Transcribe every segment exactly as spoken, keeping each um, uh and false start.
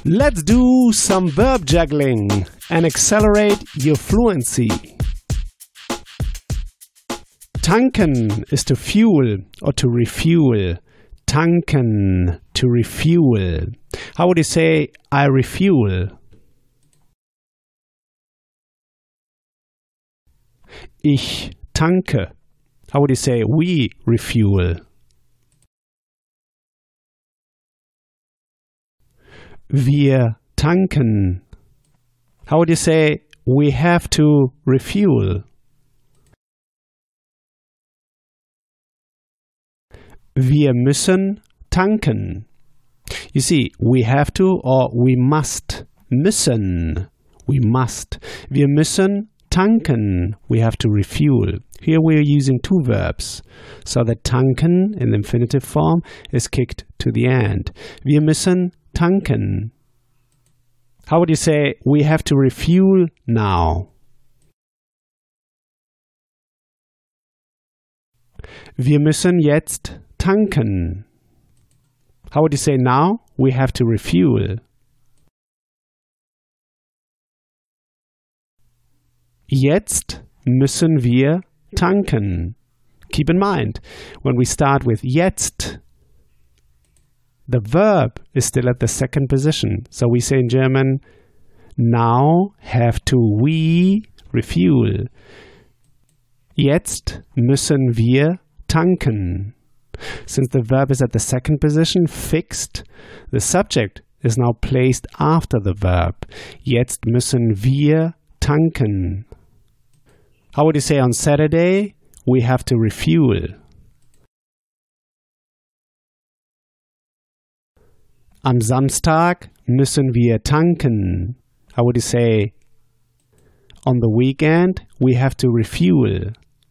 Let's do some verb juggling and accelerate your fluency. Tanken is to fuel or to refuel. Tanken, to refuel. How would you say I refuel? Ich tanke. How would you say we refuel? Wir tanken. How would you say we have to refuel? Wir müssen tanken. You see, we have to or we must. Müssen. We must. Wir müssen tanken. We have to refuel. Here we are using two verbs. So that tanken in the infinitive form is kicked to the end. Wir müssen tanken. How would you say we have to refuel now? Wir müssen jetzt tanken. How would you say now we have to refuel? Jetzt müssen wir tanken. Keep in mind, when we start with jetzt, the verb is still at the second position. So we say in German, now have to we refuel. Jetzt müssen wir tanken. Since the verb is at the second position, fixed, the subject is now placed after the verb. Jetzt müssen wir tanken. How would you say on Saturday? We have to refuel. Am Samstag müssen wir tanken. How would you say? On the weekend, we have to refuel.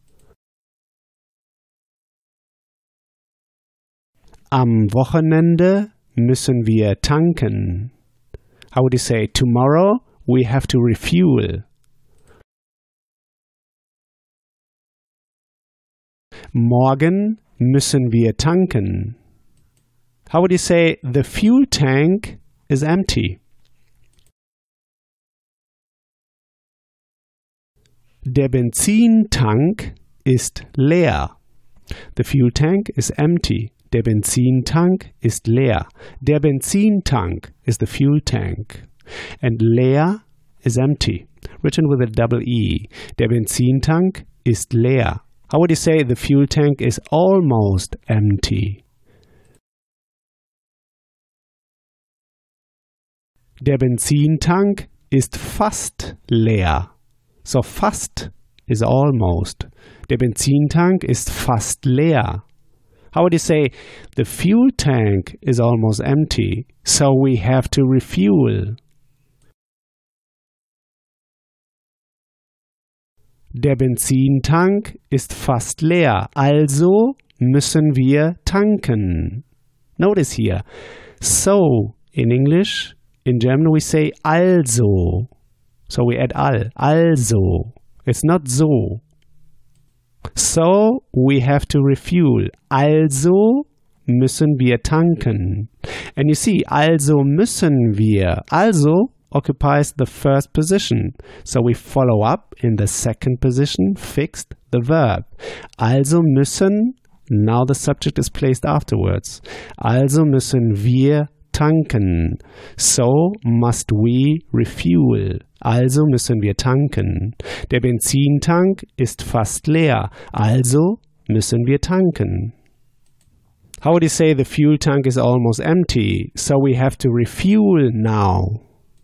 Am Wochenende müssen wir tanken. How would you say? Tomorrow, we have to refuel. Morgen müssen wir tanken. How would you say the fuel tank is empty? Der Benzintank ist leer. The fuel tank is empty. Der Benzintank ist leer. Der Benzintank is the fuel tank. And leer is empty. Written with a double E. Der Benzintank ist leer. How would you say the fuel tank is almost empty? Der Benzintank ist fast leer. So fast is almost. Der Benzintank ist fast leer. How would you say the fuel tank is almost empty, so we have to refuel? Der Benzintank ist fast leer, also müssen wir tanken. Notice here, so in English, in German we say also. So we add al, also. It's not so. So we have to refuel. Also müssen wir tanken. And you see, also müssen wir. Also occupies the first position. So we follow up in the second position, fixed the verb. Also müssen, now the subject is placed afterwards. Also müssen wir tanken. So must we refuel. Also müssen wir tanken. Der Benzintank ist fast leer. Also müssen wir tanken. How would you say the fuel tank is almost empty? So we have to refuel now.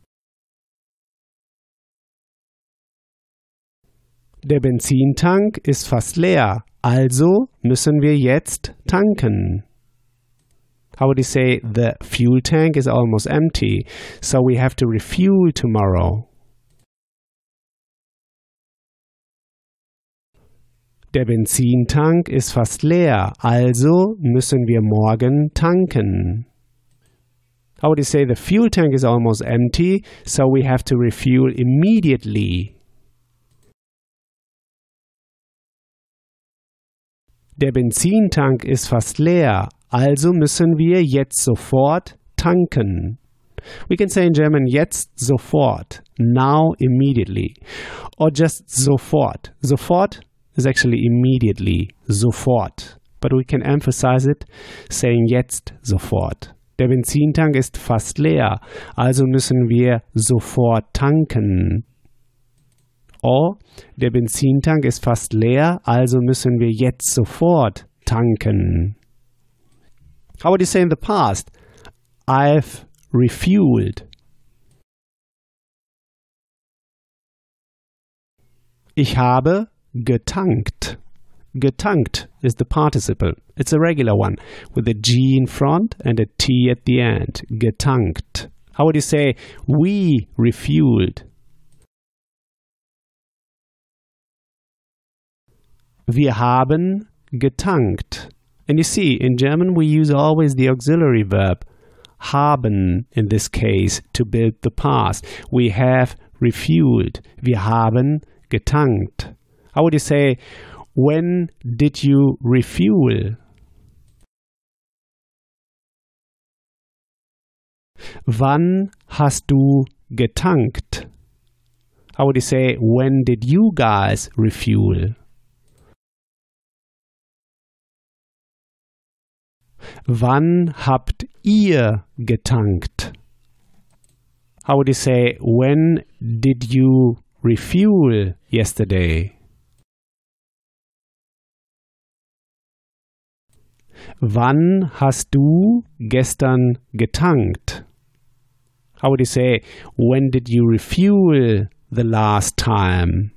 Der Benzintank ist fast leer. Also müssen wir jetzt tanken. How would you say the fuel tank is almost empty? So we have to refuel tomorrow. Der Benzintank ist fast leer, also müssen wir morgen tanken. How would you say the fuel tank is almost empty, so we have to refuel immediately? Der Benzintank ist fast leer, also müssen wir jetzt sofort tanken. We can say in German jetzt sofort, now immediately, or just sofort. Sofort is actually immediately, sofort. But we can emphasize it saying jetzt sofort. Der Benzintank ist fast leer, also müssen wir sofort tanken. Or, der Benzintank ist fast leer, also müssen wir jetzt sofort tanken. How would you say in the past? I've refueled. Ich habe getankt. Getankt is the participle. It's a regular one with a G in front and a T at the end. Getankt. How would you say we refueled? Wir haben getankt. And you see, in German we use always the auxiliary verb haben in this case to build the past. We have refueled. Wir haben getankt. How would you say, when did you refuel? Wann hast du getankt? How would you say, when did you guys refuel? Wann habt ihr getankt? How would you say, when did you refuel yesterday? Wann hast du gestern getankt? How would you say, when did you refuel the last time?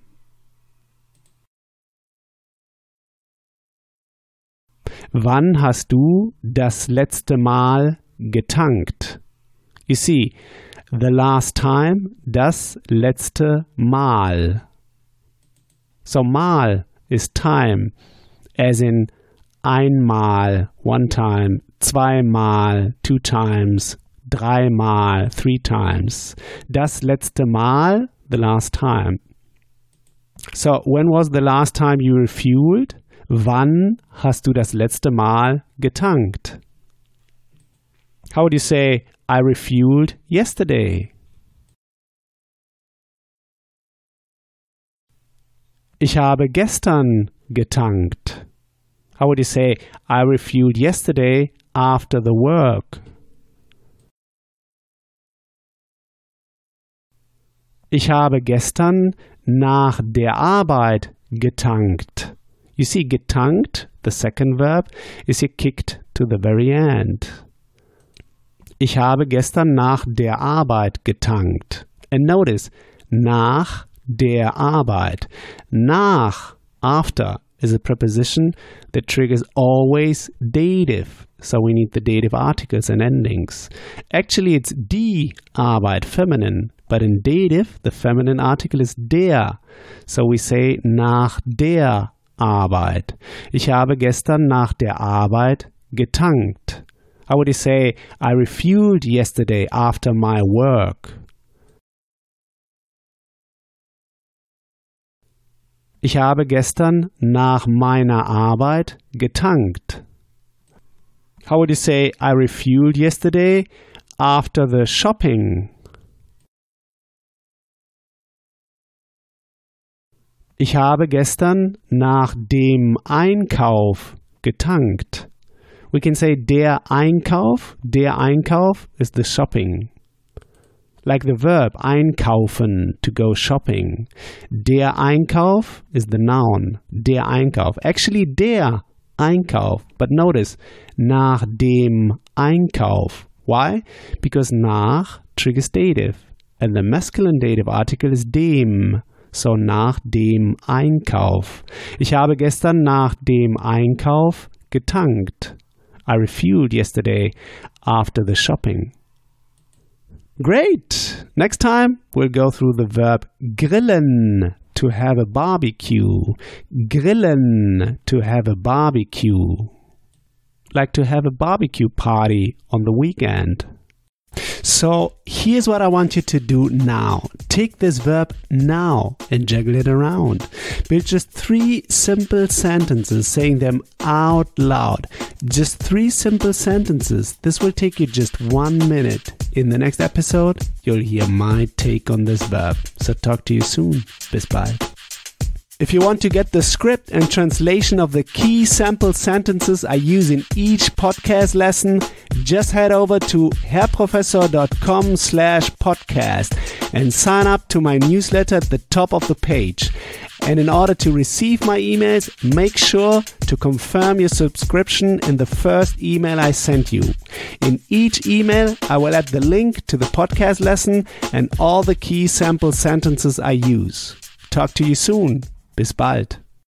Wann hast du das letzte Mal getankt? You see, the last time, das letzte Mal. So Mal is time, as in einmal, one time, zweimal, two times, dreimal, three times. Das letzte Mal, the last time. So, when was the last time you refueled? Wann hast du das letzte Mal getankt? How would you say, I refueled yesterday? Ich habe gestern getankt. How would you say, I refueled yesterday after the work? Ich habe gestern nach der Arbeit getankt. You see, getankt, the second verb, is here kicked to the very end. Ich habe gestern nach der Arbeit getankt. And notice, nach der Arbeit. Nach, after, is a preposition that triggers always dative. So we need the dative articles and endings. Actually, it's die Arbeit, feminine. But in dative, the feminine article is der. So we say nach der Arbeit. Ich habe gestern nach der Arbeit getankt. How would you say, I refueled yesterday after my work? Ich habe gestern nach meiner Arbeit getankt. How would you say, I refueled yesterday after the shopping? Ich habe gestern nach dem Einkauf getankt. We can say der Einkauf. Der Einkauf is the shopping. Like the verb einkaufen, to go shopping. Der Einkauf is the noun. Der Einkauf. Actually, der Einkauf. But notice, nach dem Einkauf. Why? Because nach triggers dative. And the masculine dative article is dem. So nach dem Einkauf. Ich habe gestern nach dem Einkauf getankt. I refueled yesterday after the shopping. Great! Next time we'll go through the verb grillen, to have a barbecue. Grillen, to have a barbecue. Like to have a barbecue party on the weekend. So here's what I want you to do now. Take this verb now and juggle it around. Build just three simple sentences, saying them out loud. Just three simple sentences. This will take you just one minute. In the next episode, you'll hear my take on this verb. So talk to you soon. Bis bald. If you want to get the script and translation of the key sample sentences I use in each podcast lesson, just head over to herrprofessor.com slash podcast and sign up to my newsletter at the top of the page. And in order to receive my emails, make sure to confirm your subscription in the first email I sent you. In each email, I will add the link to the podcast lesson and all the key sample sentences I use. Talk to you soon. Bis bald.